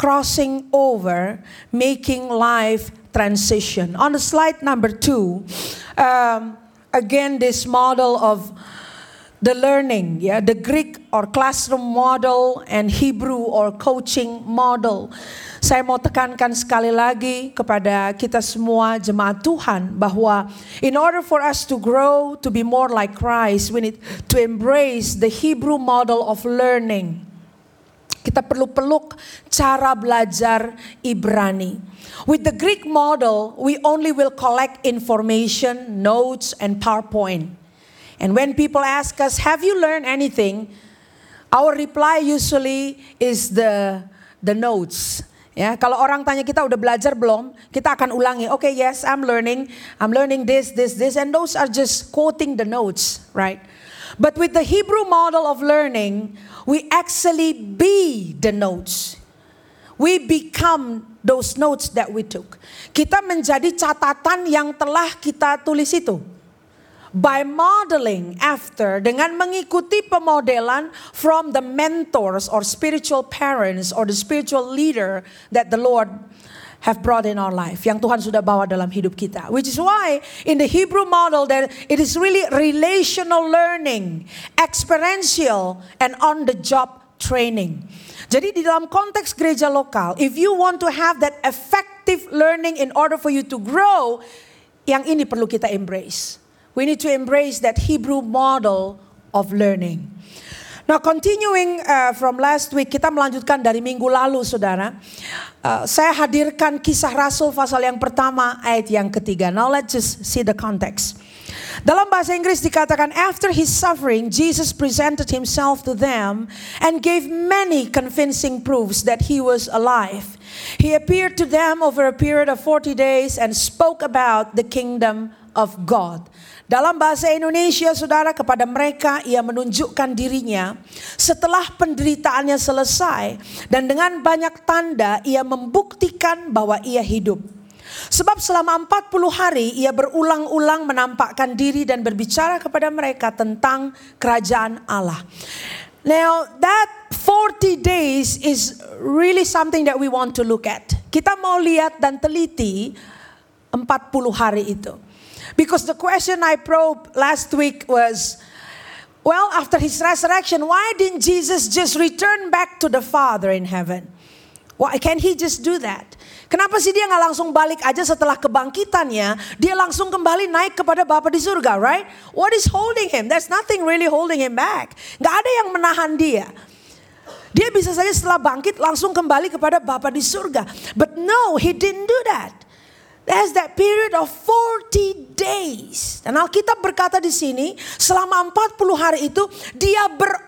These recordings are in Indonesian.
crossing over, making life transition. On the slide number 2, again this model of the learning, the Greek or classroom model and Hebrew or coaching model. Saya mau tekankan sekali lagi kepada kita semua jemaat Tuhan bahwa in order for us to grow to be more like Christ, we need to embrace the Hebrew model of learning. Kita perlu peluk cara belajar Ibrani. With the Greek model, we only will collect information, notes, and PowerPoint. And when people ask us, have you learned anything? Our reply usually is the notes. Ya, kalau orang tanya kita udah belajar belum, kita akan ulangi. Okay, yes, I'm learning this, and those are just quoting the notes, right? But with the Hebrew model of learning, we actually be the notes. We become those notes that we took. Kita menjadi catatan yang telah kita tulis itu. By modeling after, dengan mengikuti pemodelan from the mentors or spiritual parents or the spiritual leader that the Lord have brought in our life, yang Tuhan sudah bawa dalam hidup kita. Which is why in the Hebrew model that it is really relational learning, experiential and on the job training. Jadi di dalam konteks gereja lokal, if you want to have that effective learning in order for you to grow, yang ini perlu kita embrace. We need to embrace that Hebrew model of learning. Now continuing from last week, kita melanjutkan dari minggu lalu saudara. Saya hadirkan Kisah Rasul pasal yang pertama ayat yang ketiga. Now let's just see the context. Dalam bahasa Inggris dikatakan, after his suffering, Jesus presented himself to them and gave many convincing proofs that he was alive. He appeared to them over a period of 40 days and spoke about the kingdom of God. Dalam bahasa Indonesia, saudara, kepada mereka ia menunjukkan dirinya setelah penderitaannya selesai. Dan dengan banyak tanda ia membuktikan bahwa ia hidup. Sebab selama 40 hari ia berulang-ulang menampakkan diri dan berbicara kepada mereka tentang kerajaan Allah. Now that 40 days is really something that we want to look at. Kita mau lihat dan teliti 40 hari itu. Because the question I probed last week was, well, after his resurrection, why didn't Jesus just return back to the Father in heaven? Why can't he just do that? Kenapa sih dia gak langsung balik aja setelah kebangkitannya, dia langsung kembali naik kepada Bapa di surga, right? What is holding him? There's nothing really holding him back. Gak ada yang menahan dia. Dia bisa saja setelah bangkit langsung kembali kepada Bapa di surga. But no, he didn't do that. There's that period of 40 days. Dan Alkitab berkata di sini, selama 40 hari itu dia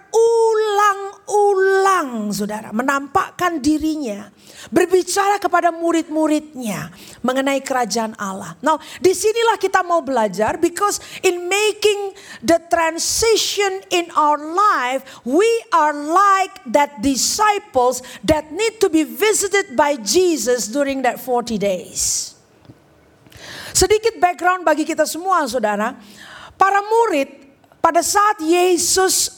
berulang-ulang, saudara, menampakkan dirinya, berbicara kepada murid-muridnya mengenai kerajaan Allah. Now, disinilah kita mau belajar, because in making the transition in our life, we are like that disciples that need to be visited by Jesus during that 40 days. Sedikit background bagi kita semua, saudara. Para murid pada saat Yesus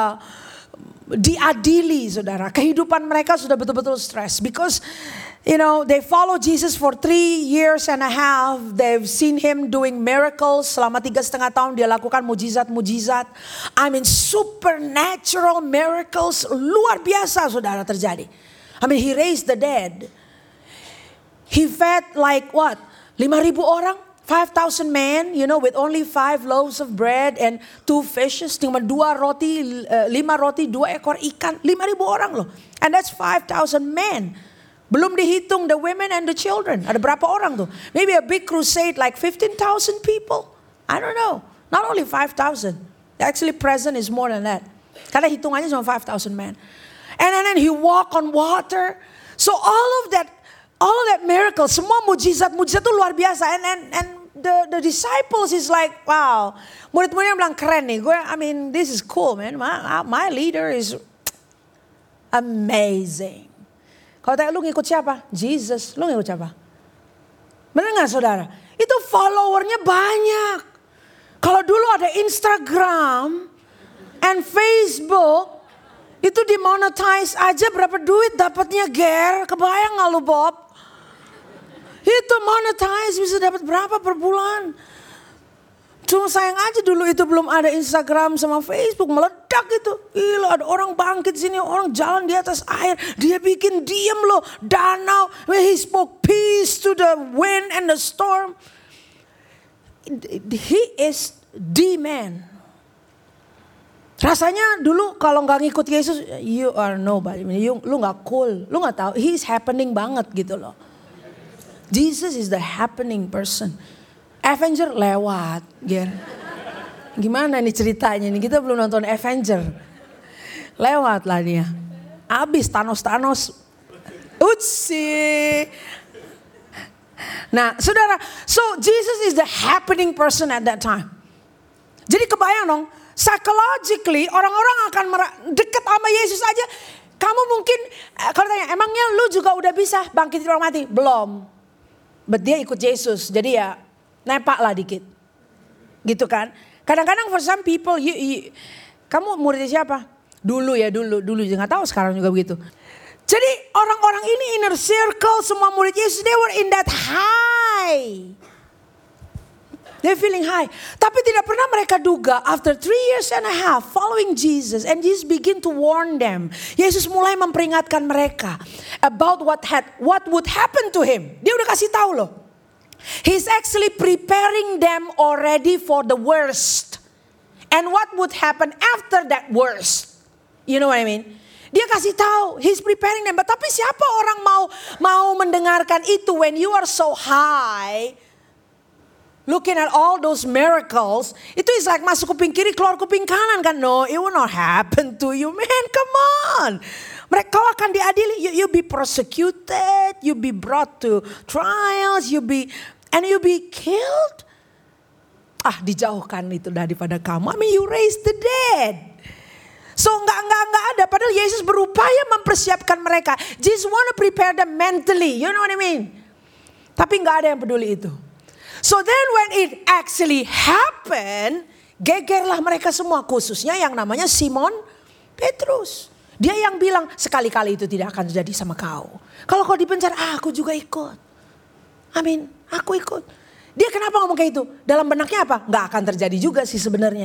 diadili, saudara, kehidupan mereka sudah betul-betul stres. Because, you know, they follow Jesus for 3 years and a half. They've seen him doing miracles. Selama 3,5 tahun dia lakukan mujizat-mujizat. I mean, supernatural miracles. Luar biasa, saudara, terjadi. I mean, he raised the dead. He fed like what? 5,000 orang, 5,000 men, you know, with only 5 loaves of bread and 2 fishes. Cuma 2 roti, 5 roti, 2 ekor ikan. 5,000 orang loh. And that's 5,000 men. Belum dihitung the women and the children. Ada berapa orang tuh? Maybe a big crusade like 15,000 people. I don't know. Not only 5,000. Actually present is more than that. Karena hitungannya cuma 5,000 men. And then he walk on water. So all of that miracle, semua mujizat-mujizat itu luar biasa. And the disciples is like, wow. Murid-muridnya bilang keren nih. I mean, this is cool, man. My leader is amazing. Kalau tanya lu ngikut siapa? Jesus. Lu ngikut siapa? Benar gak, saudara? Itu followernya banyak. Kalau dulu ada Instagram and Facebook, Itu dimonetize aja berapa duit dapatnya, Ger? Kebayang gak lu, Bob? Itu monetize bisa dapat berapa per bulan? Cuma sayang aja dulu itu belum ada Instagram sama Facebook, meledak itu. Gila, ada orang bangkit sini, orang jalan di atas air. Dia bikin diem loh, danau. He spoke peace to the wind and the storm. He is the man. Rasanya dulu kalau nggak ngikut Yesus, you are nobody. Lu nggak cool, lu nggak tahu. He's happening banget gitu loh. Jesus is the happening person. Avenger lewat, Ger. Gimana nih ceritanya nih? Kita belum nonton Avenger. Lewat lah dia. Abis Thanos. Utsi. Nah, saudara, so Jesus is the happening person at that time. Jadi kebayang dong, psychologically orang-orang akan dekat sama Yesus aja. Kamu mungkin, kalau tanya, emangnya lu juga udah bisa bangkit dari orang mati? Belum. But dia ikut Yesus, jadi ya nepak lah dikit. Gitu kan. Kadang-kadang for some people, kamu muridnya siapa? Dulu. Gak tahu sekarang juga begitu. Jadi orang-orang ini inner circle, semua murid Yesus, they were in that high. They're feeling high. Tapi tidak pernah mereka duga after 3 years and a half following Jesus. And Jesus begin to warn them. Yesus mulai memperingatkan mereka about what would happen to him. Dia udah kasih tahu loh. He's actually preparing them already for the worst. And what would happen after that worst. You know what I mean? Dia kasih tahu, he's preparing them. Tapi siapa orang mau mendengarkan itu when you are so high, looking at all those miracles, itu is like masuk kuping kiri, keluar kuping kanan kan? No, it will not happen to you, man. Come on. Kau akan diadili, you be persecuted, you be brought to trials, you be killed. Dijauhkan itu daripada kamu. I mean, you raise the dead. So enggak ada. Padahal Yesus berupaya mempersiapkan mereka. Jesus want to prepare them mentally. You know what I mean? Tapi enggak ada yang peduli itu. So then when it actually happened, gegerlah mereka semua. Khususnya yang namanya Simon Petrus. Dia yang bilang, sekali-kali itu tidak akan terjadi sama kau. Kalau kau dipenjara, aku juga ikut. Amin, aku ikut. Dia kenapa ngomong kayak itu? Dalam benaknya apa? Gak akan terjadi juga sih sebenarnya.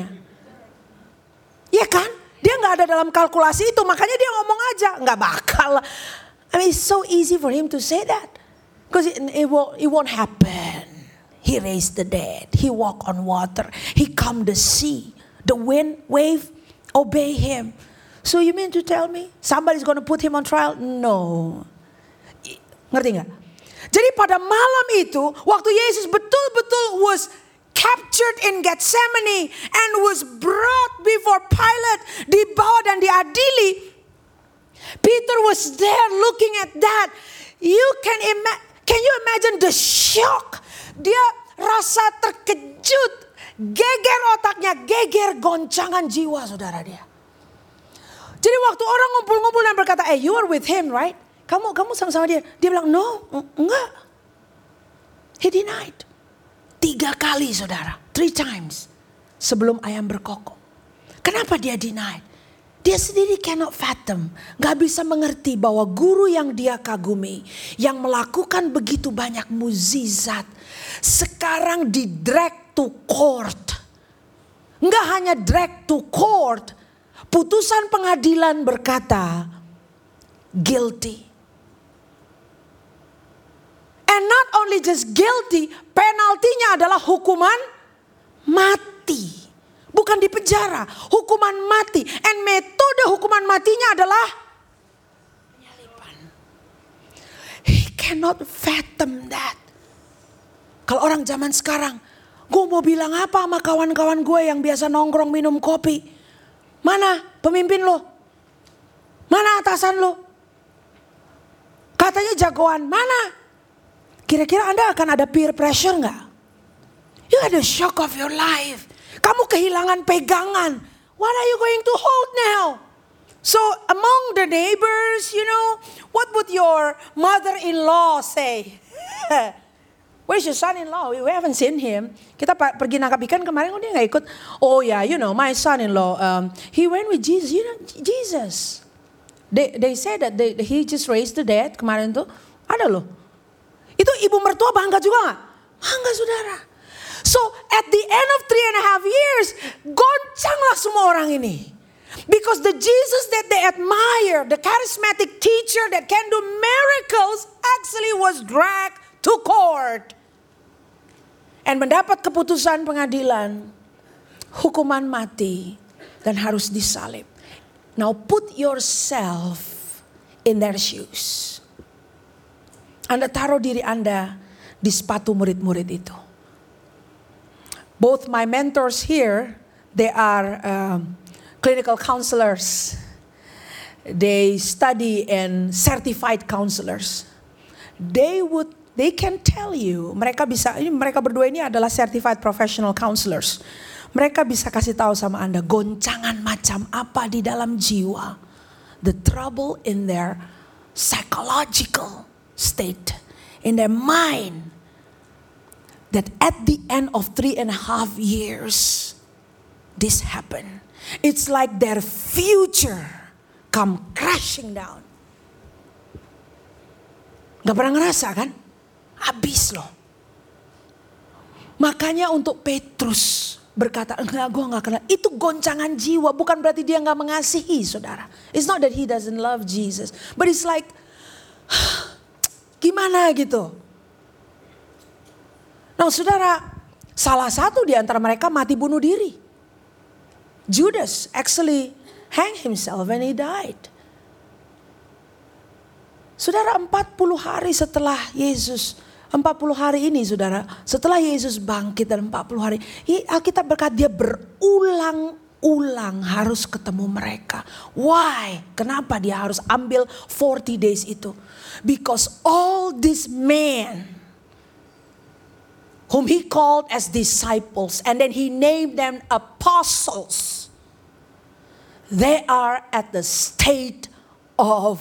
Iya kan? Dia gak ada dalam kalkulasi itu, makanya dia ngomong aja. Gak bakal. I mean, it's so easy for him to say that. Because it won't happen. He raised the dead. He walked on water. He calmed the sea. The wind, wave, obey him. So you mean to tell me somebody's going to put him on trial? No. Ngerti gak? Jadi pada malam itu, waktu Yesus betul-betul was captured in Gethsemane and was brought before Pilate, dibawa dan diadili. Peter was there looking at that. Can you imagine the shock? Dia rasa terkejut, geger otaknya, geger goncangan jiwa saudara dia. Jadi waktu orang ngumpul-ngumpul dan berkata, you are with him, right? Kamu sama-sama dia. Dia bilang, no, enggak. He denied. 3 kali saudara, 3 times. Sebelum ayam berkokok. Kenapa dia denied? Dia sendiri cannot fathom. Gak bisa mengerti bahwa guru yang dia kagumi, yang melakukan begitu banyak mukjizat, sekarang di drag to court. Gak hanya drag to court. Putusan pengadilan berkata, guilty. And not only just guilty, penaltinya adalah hukuman mati. Bukan di penjara, hukuman mati. And metode hukuman matinya adalah penyaliban. He cannot fathom that. Kalau orang zaman sekarang, gue mau bilang apa sama kawan-kawan gue yang biasa nongkrong minum kopi? Mana pemimpin lo? Mana atasan lo? Katanya jagoan, mana? Kira-kira Anda akan ada peer pressure gak? You had a shock of your life. Kamu kehilangan pegangan. What are you going to hold now? So among the neighbors, what would your mother-in-law say? Where's your son-in-law? We haven't seen him. Kita pergi nangkap ikan kemarin, dia gak ikut. Oh yeah, my son-in-law, he went with Jesus. Jesus. They say that he just raised the dead kemarin tuh. Ada loh. Itu ibu mertua bangga juga gak? Bangga saudara. So at the end of 3.5 years, goncanglah semua orang ini. Because the Jesus that they admire, the charismatic teacher that can do miracles, actually was dragged to court. And mendapat keputusan pengadilan, hukuman mati, dan harus disalib. Now put yourself in their shoes. Anda taruh diri Anda di sepatu murid-murid itu. Both my mentors here, they are clinical counselors. They study and certified counselors. They can tell you, mereka berdua ini adalah certified professional counselors. Mereka bisa kasih tahu sama Anda goncangan macam apa di dalam jiwa. The trouble in their psychological state, in their mind. That at the end of 3.5 years, this happened. It's like their future come crashing down. Gak pernah ngerasa kan? Habis loh. Makanya untuk Petrus berkata, enggak, gue gak kenal. Itu goncangan jiwa, bukan berarti dia gak mengasihi saudara. It's not that he doesn't love Jesus. But it's like, gimana gitu. Nah saudara, salah satu di antara mereka mati bunuh diri. Judas actually hanged himself and he died. Saudara, 40 hari setelah Yesus, 40 hari ini saudara, setelah Yesus bangkit dan 40 hari, Alkitab berkata dia berulang-ulang harus ketemu mereka. Why? Kenapa dia harus ambil 40 days itu? Because all these men whom he called as disciples and then he named them apostles, they are at the state of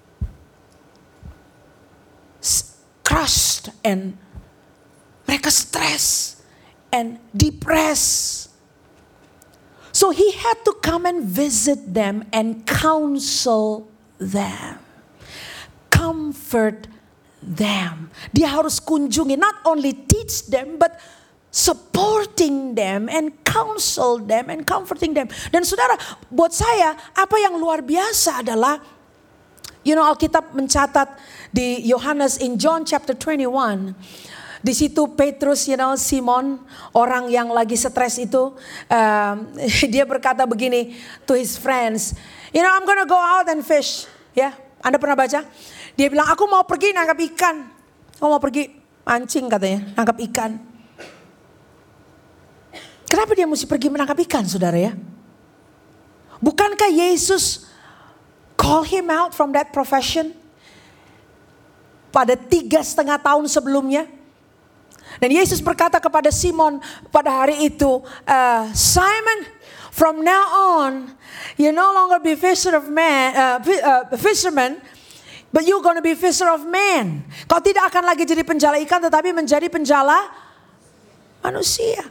crushed and mereka stress and depressed. So he had to come and visit them and counsel them, comfort them. Dia harus kunjungi, not only teach them but supporting them and counsel them and comforting them. Dan saudara, buat saya apa yang luar biasa adalah, Alkitab mencatat di Yohanes in John chapter 21. Di situ Petrus, Simon, orang yang lagi stres itu, dia berkata begini to his friends, I'm gonna go out and fish. Ya, Anda pernah baca? Dia bilang, aku mau pergi nangkap ikan. Aku mau pergi mancing katanya, nangkap ikan. Kenapa dia mesti pergi menangkap ikan, saudara ya? Bukankah Yesus call him out from that profession pada 3,5 tahun sebelumnya? Dan Yesus berkata kepada Simon pada hari itu, Simon, from now on, you no longer be fisherman, but you're going to be fisher of men. Kau tidak akan lagi jadi penjala ikan, tetapi menjadi penjala manusia.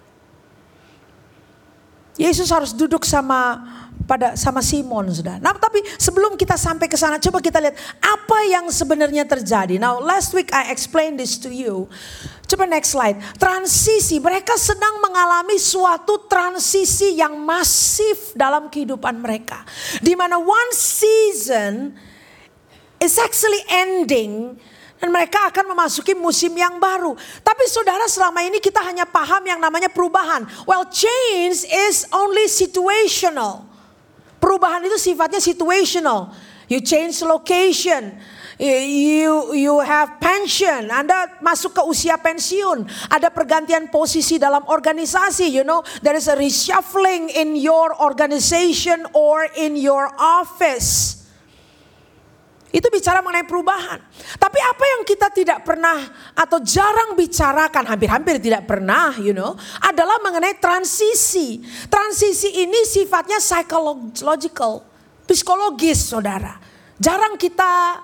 Yesus harus duduk sama Simon, saudara. Nah, tapi sebelum kita sampai ke sana, coba kita lihat apa yang sebenarnya terjadi. Now, last week I explained this to you. Coba next slide. Transisi, mereka sedang mengalami suatu transisi yang masif dalam kehidupan mereka. Di mana one season is actually ending dan mereka akan memasuki musim yang baru. Tapi saudara, selama ini kita hanya paham yang namanya perubahan. Well, change is only situational. Perubahan itu sifatnya situational. You change location. You have pension. Anda masuk ke usia pensiun. Ada pergantian posisi dalam organisasi. There is a reshuffling in your organization or in your office. Itu bicara mengenai perubahan. Tapi apa yang kita tidak pernah atau jarang bicarakan, hampir-hampir tidak pernah, adalah mengenai transisi. Transisi ini sifatnya psychological, psikologis, saudara. Jarang kita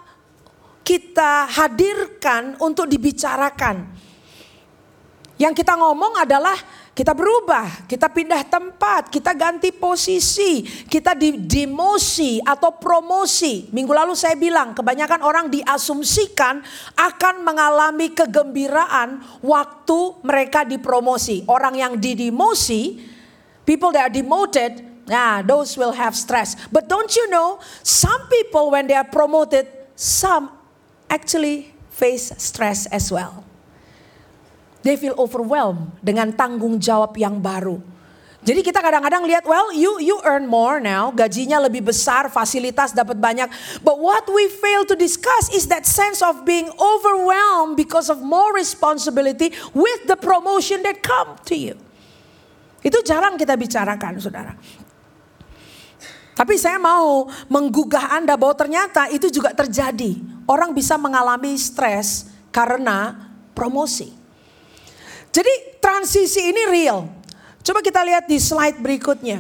hadirkan untuk dibicarakan. Yang kita ngomong adalah kita berubah, kita pindah tempat, kita ganti posisi, kita demosi atau promosi. Minggu lalu saya bilang kebanyakan orang diasumsikan akan mengalami kegembiraan waktu mereka dipromosi. Orang yang didemosi, people that are demoted, those will have stress. But don't you know, some people when they are promoted, some actually face stress as well. They feel overwhelmed dengan tanggung jawab yang baru. Jadi kita kadang-kadang lihat, well, you earn more now, gajinya lebih besar, fasilitas dapat banyak. But what we fail to discuss is that sense of being overwhelmed because of more responsibility with the promotion that come to you. Itu jarang kita bicarakan, saudara. Tapi saya mau menggugah Anda bahwa ternyata itu juga terjadi. Orang bisa mengalami stres karena promosi. Jadi transisi ini real. Coba kita lihat di slide berikutnya.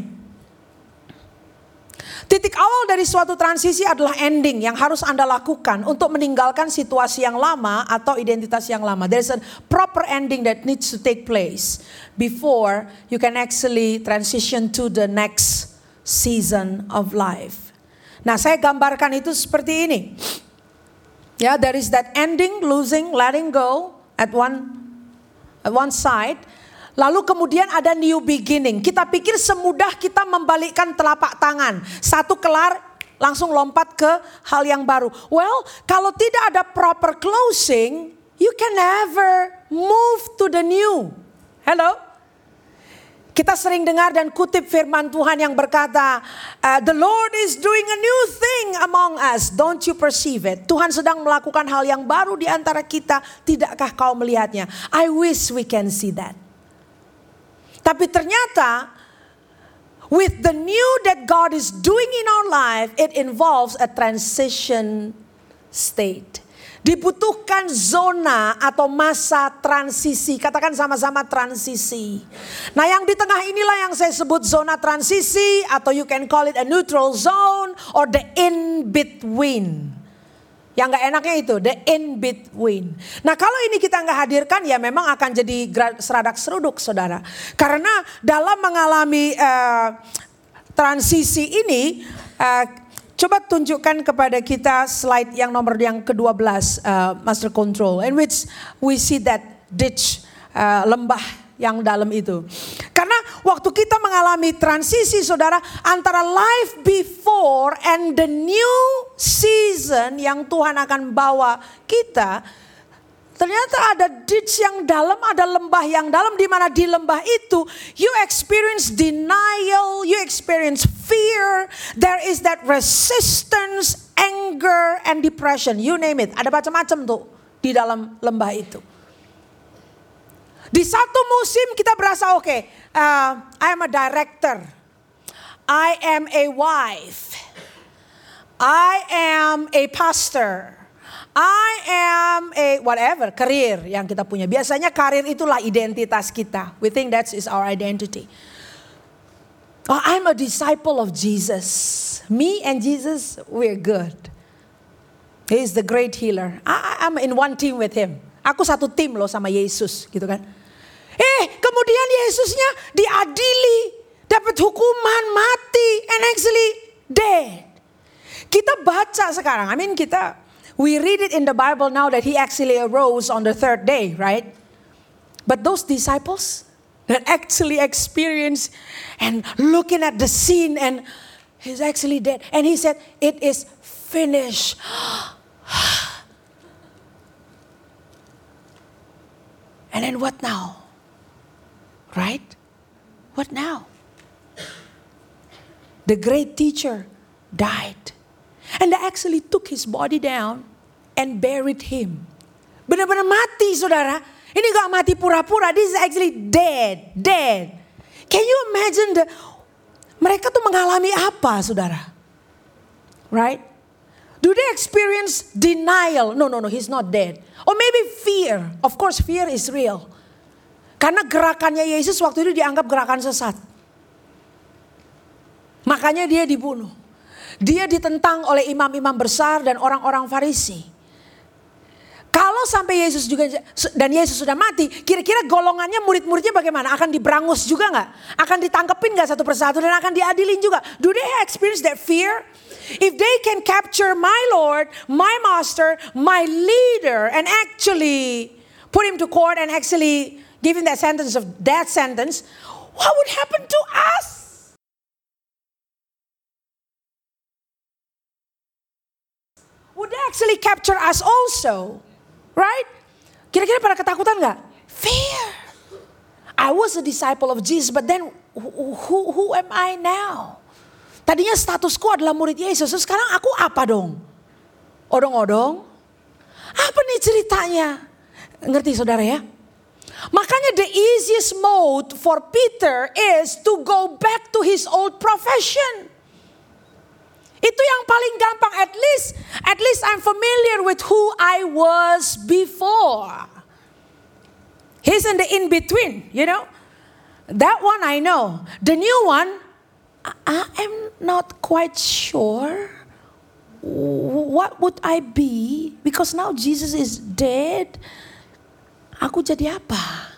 Titik awal dari suatu transisi adalah ending yang harus Anda lakukan untuk meninggalkan situasi yang lama atau identitas yang lama. There's a proper ending that needs to take place before you can actually transition to the next season of life. Nah, saya gambarkan itu seperti ini. Ya, there is that ending, losing, letting go at one side. Lalu kemudian ada new beginning. Kita pikir semudah kita membalikkan telapak tangan. Satu kelar, langsung lompat ke hal yang baru. Well, kalau tidak ada proper closing, you can never move to the new. Hello? Kita sering dengar dan kutip firman Tuhan yang berkata, the Lord is doing a new thing among us. Don't you perceive it? Tuhan sedang melakukan hal yang baru di antara kita. Tidakkah kau melihatnya? I wish we can see that. Tapi ternyata, with the new that God is doing in our life, it involves a transition state. Dibutuhkan zona atau masa transisi. Katakan sama-sama transisi. Nah, yang di tengah inilah yang saya sebut zona transisi, atau you can call it a neutral zone or the in-between. Yang gak enaknya itu, the in-between. Nah, kalau ini kita gak hadirkan, ya memang akan jadi seradak seruduk, saudara. Karena dalam mengalami transisi ini, coba tunjukkan kepada kita slide yang nomor yang ke-12, Master Control. In which we see that ditch, lembah yang dalam itu. Karena waktu kita mengalami transisi, saudara, antara life before and the new season yang Tuhan akan bawa kita, ternyata ada ditch yang dalam, ada lembah yang dalam, di mana di lembah itu you experience denial, you experience fear, there is that resistance, anger and depression, you name it. Ada macam-macam tuh di dalam lembah itu. Di satu musim kita berasa okay, I am a director, I am a wife, I am a pastor, I am a whatever, karir yang kita punya. Biasanya karir itulah identitas kita. We think that is our identity. Oh, I'm a disciple of Jesus. Me and Jesus, we're good. He is the great healer. I'm in one team with him. Aku satu tim loh sama Yesus, gitu kan. Kemudian Yesusnya diadili, dapat hukuman mati, and actually dead. Kita baca sekarang, we read it in the Bible now that he actually arose on the third day, right? But those disciples that actually experienced and looking at the scene, and he's actually dead. And he said, it is finished. And then what now? Right? What now? The great teacher died. And they actually took his body down and buried him. Benar-benar mati, saudara. Ini gak mati pura-pura. This is actually dead. Can you imagine mereka tuh mengalami apa, saudara? Right? Do they experience denial? No, he's not dead. Or maybe fear. Of course, fear is real. Karena gerakannya Yesus waktu itu dianggap gerakan sesat. Makanya dia dibunuh. Dia ditentang oleh imam-imam besar dan orang-orang Farisi. Kalau Kalau sampai Yesus juga dan Yesus sudah mati, kira-kira golongannya murid-muridnya bagaimana? Akan diberangus juga nggak? Akan ditangkepin nggak satu persatu dan akan diadilin juga? Do they experience that fear? If they can capture my Lord, my Master, my leader, and actually put him to court and actually give him that sentence of death sentence, what would happen to us? Would they actually capture us also? Right? Kira-kira pada ketakutan gak? Fear. I was a disciple of Jesus, but then who am I now? Tadinya statusku adalah murid Yesus, sekarang aku apa dong? Odong-odong? Apa nih ceritanya? Ngerti saudara ya? Makanya the easiest mode for Peter is to go back to his old profession. Itu yang paling gampang. At least I'm familiar with who I was before. He's in the in-between, you know. That one I know. The new one, I'm not quite sure. What would I be? Because now Jesus is dead. Aku jadi apa?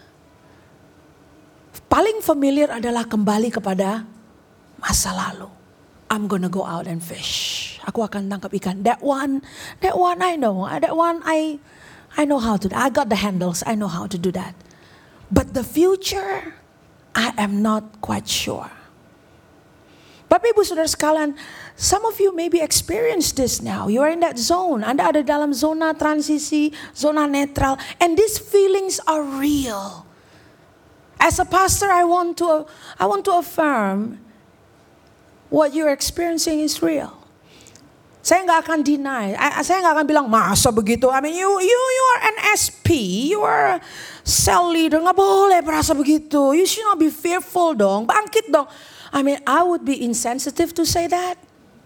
Paling familiar adalah kembali kepada masa lalu. I'm gonna go out and fish. Aku akan tangkap ikan. That one I know. That one I know how to do. I got the handles. I know how to do that. But the future, I am not quite sure. Bapak Ibu Saudara sekalian, some of you maybe experience this now. You are in that zone. Anda ada dalam zona transisi, zona netral, and these feelings are real. As a pastor, I want to affirm what you're experiencing is real. Saya nggak akan deny. Saya nggak akan bilang masa begitu. I mean, you are an SP, you are a cell leader. Nggak boleh merasa begitu. You should not be fearful dong. Bangkit dong. I mean, I would be insensitive to say that.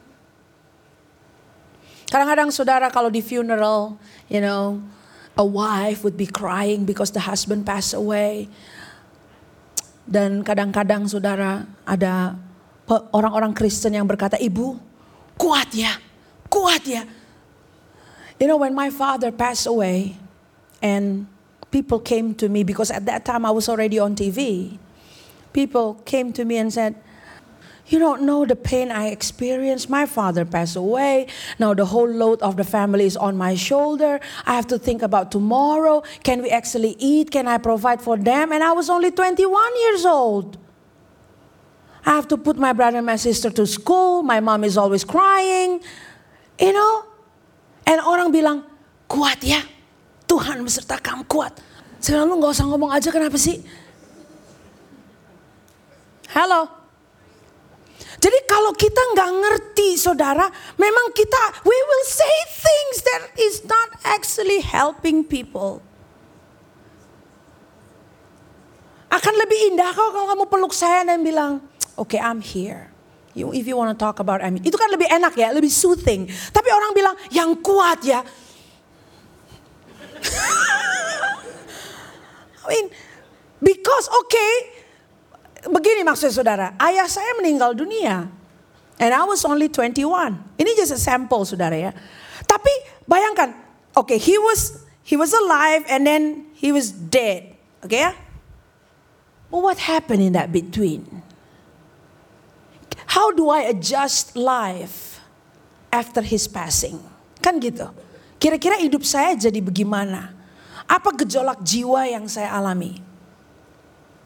Kadang-kadang saudara kalau di funeral, you know, a wife would be crying because the husband passed away. Dan kadang-kadang saudara ada orang-orang Kristen yang berkata, ibu kuat ya. You know, when my father passed away and people came to me, because at that time I was already on TV. People came to me and said, you don't know the pain I experienced. My father passed away. Now the whole load of the family is on my shoulder. I have to think about tomorrow. Can we actually eat? Can I provide for them? And I was only 21 years old. I have to put my brother and my sister to school. My mom is always crying. You know? And orang bilang, kuat ya. Tuhan beserta kamu, kuat. Saya bilang, lu gak usah ngomong aja, kenapa sih? Halo. Jadi kalau kita gak ngerti saudara, memang we will say things that is not actually helping people. Akan lebih indah kalau kamu peluk saya dan bilang, okay, I'm here. If you want to talk about me. Itu kan lebih enak ya, lebih soothing. Tapi orang bilang, yang kuat ya. I mean, because begini maksudnya saudara. Ayah saya meninggal dunia. And I was only 21. Ini just a sample saudara ya. Tapi bayangkan, he was alive and then he was dead. Okay ya? Well, what happened in that between? How do I adjust life after his passing? Kan gitu. Kira-kira hidup saya jadi bagaimana? Apa gejolak jiwa yang saya alami?